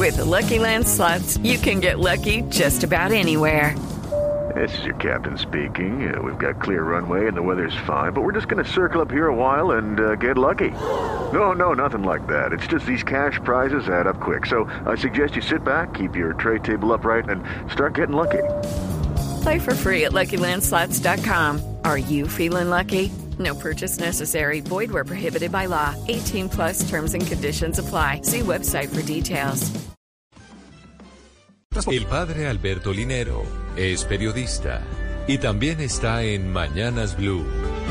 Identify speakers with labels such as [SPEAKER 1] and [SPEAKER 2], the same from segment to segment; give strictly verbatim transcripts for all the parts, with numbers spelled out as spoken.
[SPEAKER 1] With the Lucky Land Slots, you can get lucky just about anywhere.
[SPEAKER 2] This is your captain speaking. Uh, we've got clear runway and the weather's fine, but we're just going to circle up here a while and uh, get lucky. No, no, nothing like that. It's just these cash prizes add up quick. So I suggest you sit back, keep your tray table upright, and start getting lucky.
[SPEAKER 1] Play for free at Lucky Land Slots dot com. Are you feeling lucky? No purchase necessary. Void where prohibited by law. eighteen plus terms and conditions apply. See website for details.
[SPEAKER 3] El padre Alberto Linero es periodista y también está en Mañanas Blue.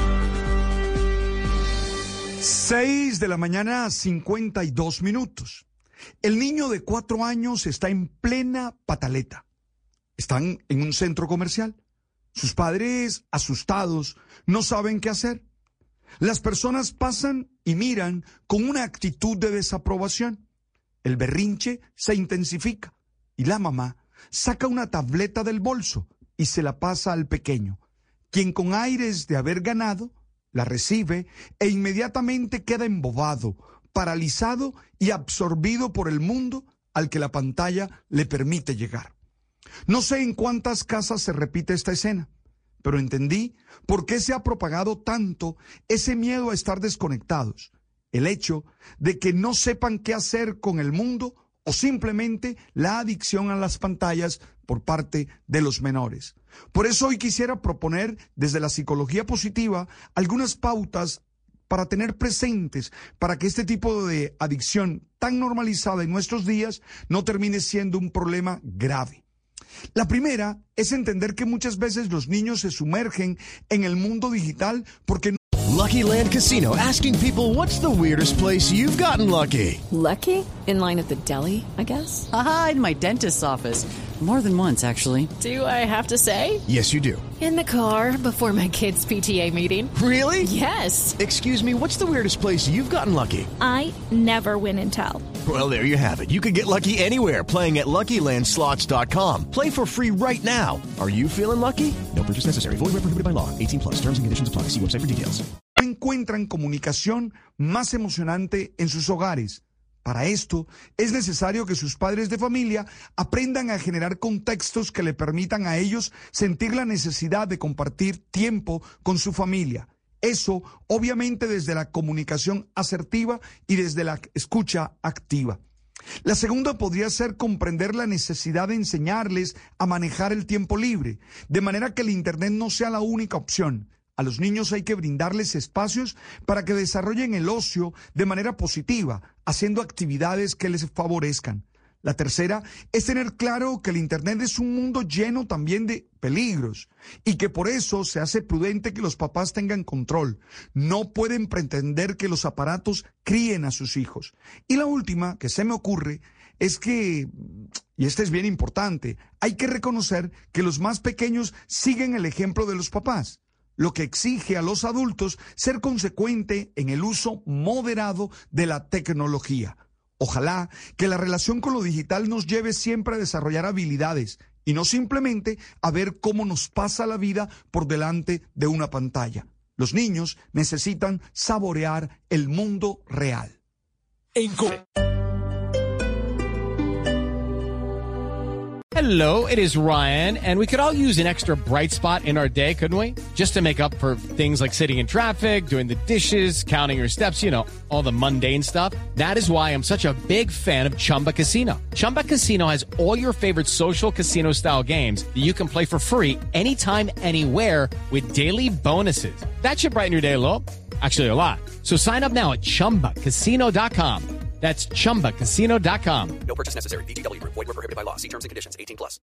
[SPEAKER 4] Seis de la mañana, cincuenta y dos minutos. El niño de cuatro años está en plena pataleta. Están en un centro comercial. Sus padres, asustados, no saben qué hacer. Las personas pasan y miran con una actitud de desaprobación. El berrinche se intensifica y la mamá saca una tableta del bolso y se la pasa al pequeño, quien con aires de haber ganado, la recibe e inmediatamente queda embobado, paralizado y absorbido por el mundo al que la pantalla le permite llegar. No sé en cuántas casas se repite esta escena, pero entendí por qué se ha propagado tanto ese miedo a estar desconectados, el hecho de que no sepan qué hacer con el mundo o simplemente la adicción a las pantallas por parte de los menores. Por eso hoy quisiera proponer desde la psicología positiva algunas pautas para tener presentes, para que este tipo de adicción tan normalizada en nuestros días no termine siendo un problema grave. La primera es entender que muchas veces los niños se sumergen en el mundo digital porque no...
[SPEAKER 5] Lucky Land Casino, asking people, what's the weirdest place you've gotten lucky?
[SPEAKER 6] Lucky? In line at the deli, I guess?
[SPEAKER 7] Aha, in my dentist's office. More than once, actually.
[SPEAKER 6] Do I have to say?
[SPEAKER 5] Yes, you do.
[SPEAKER 6] In the car before my kids' P T A meeting.
[SPEAKER 5] Really?
[SPEAKER 6] Yes.
[SPEAKER 5] Excuse me, what's the weirdest place you've gotten lucky?
[SPEAKER 8] I never win and tell.
[SPEAKER 5] Well, there you have it. You can get lucky anywhere, playing at Lucky Land Slots dot com. Play for free right now. Are you feeling lucky? No purchase necessary. Void where prohibited by law. eighteen plus. Terms and conditions apply. See website for details.
[SPEAKER 4] Encuentran comunicación más emocionante en sus hogares. Para esto, es necesario que sus padres de familia aprendan a generar contextos que le permitan a ellos sentir la necesidad de compartir tiempo con su familia. Eso, obviamente, desde la comunicación asertiva y desde la escucha activa. La segunda podría ser comprender la necesidad de enseñarles a manejar el tiempo libre, de manera que el Internet no sea la única opción. A los niños hay que brindarles espacios para que desarrollen el ocio de manera positiva, haciendo actividades que les favorezcan. La tercera es tener claro que el Internet es un mundo lleno también de peligros y que por eso se hace prudente que los papás tengan control. No pueden pretender que los aparatos críen a sus hijos. Y la última que se me ocurre es que, y esta es bien importante, hay que reconocer que los más pequeños siguen el ejemplo de los papás, lo que exige a los adultos ser consecuente en el uso moderado de la tecnología. Ojalá que la relación con lo digital nos lleve siempre a desarrollar habilidades y no simplemente a ver cómo nos pasa la vida por delante de una pantalla. Los niños necesitan saborear el mundo real.
[SPEAKER 9] Hello, it is Ryan, and we could all use an extra bright spot in our day, couldn't we? Just to make up for things like sitting in traffic, doing the dishes, counting your steps, you know, all the mundane stuff. That is why I'm such a big fan of Chumba Casino. Chumba Casino has all your favorite social casino-style games that you can play for free anytime, anywhere with daily bonuses. That should brighten your day a little. Actually, a lot. So sign up now at chumba casino dot com. That's chumba casino dot com.
[SPEAKER 10] No purchase necessary. V G W Group. Void where prohibited by law. See terms and conditions. eighteen plus.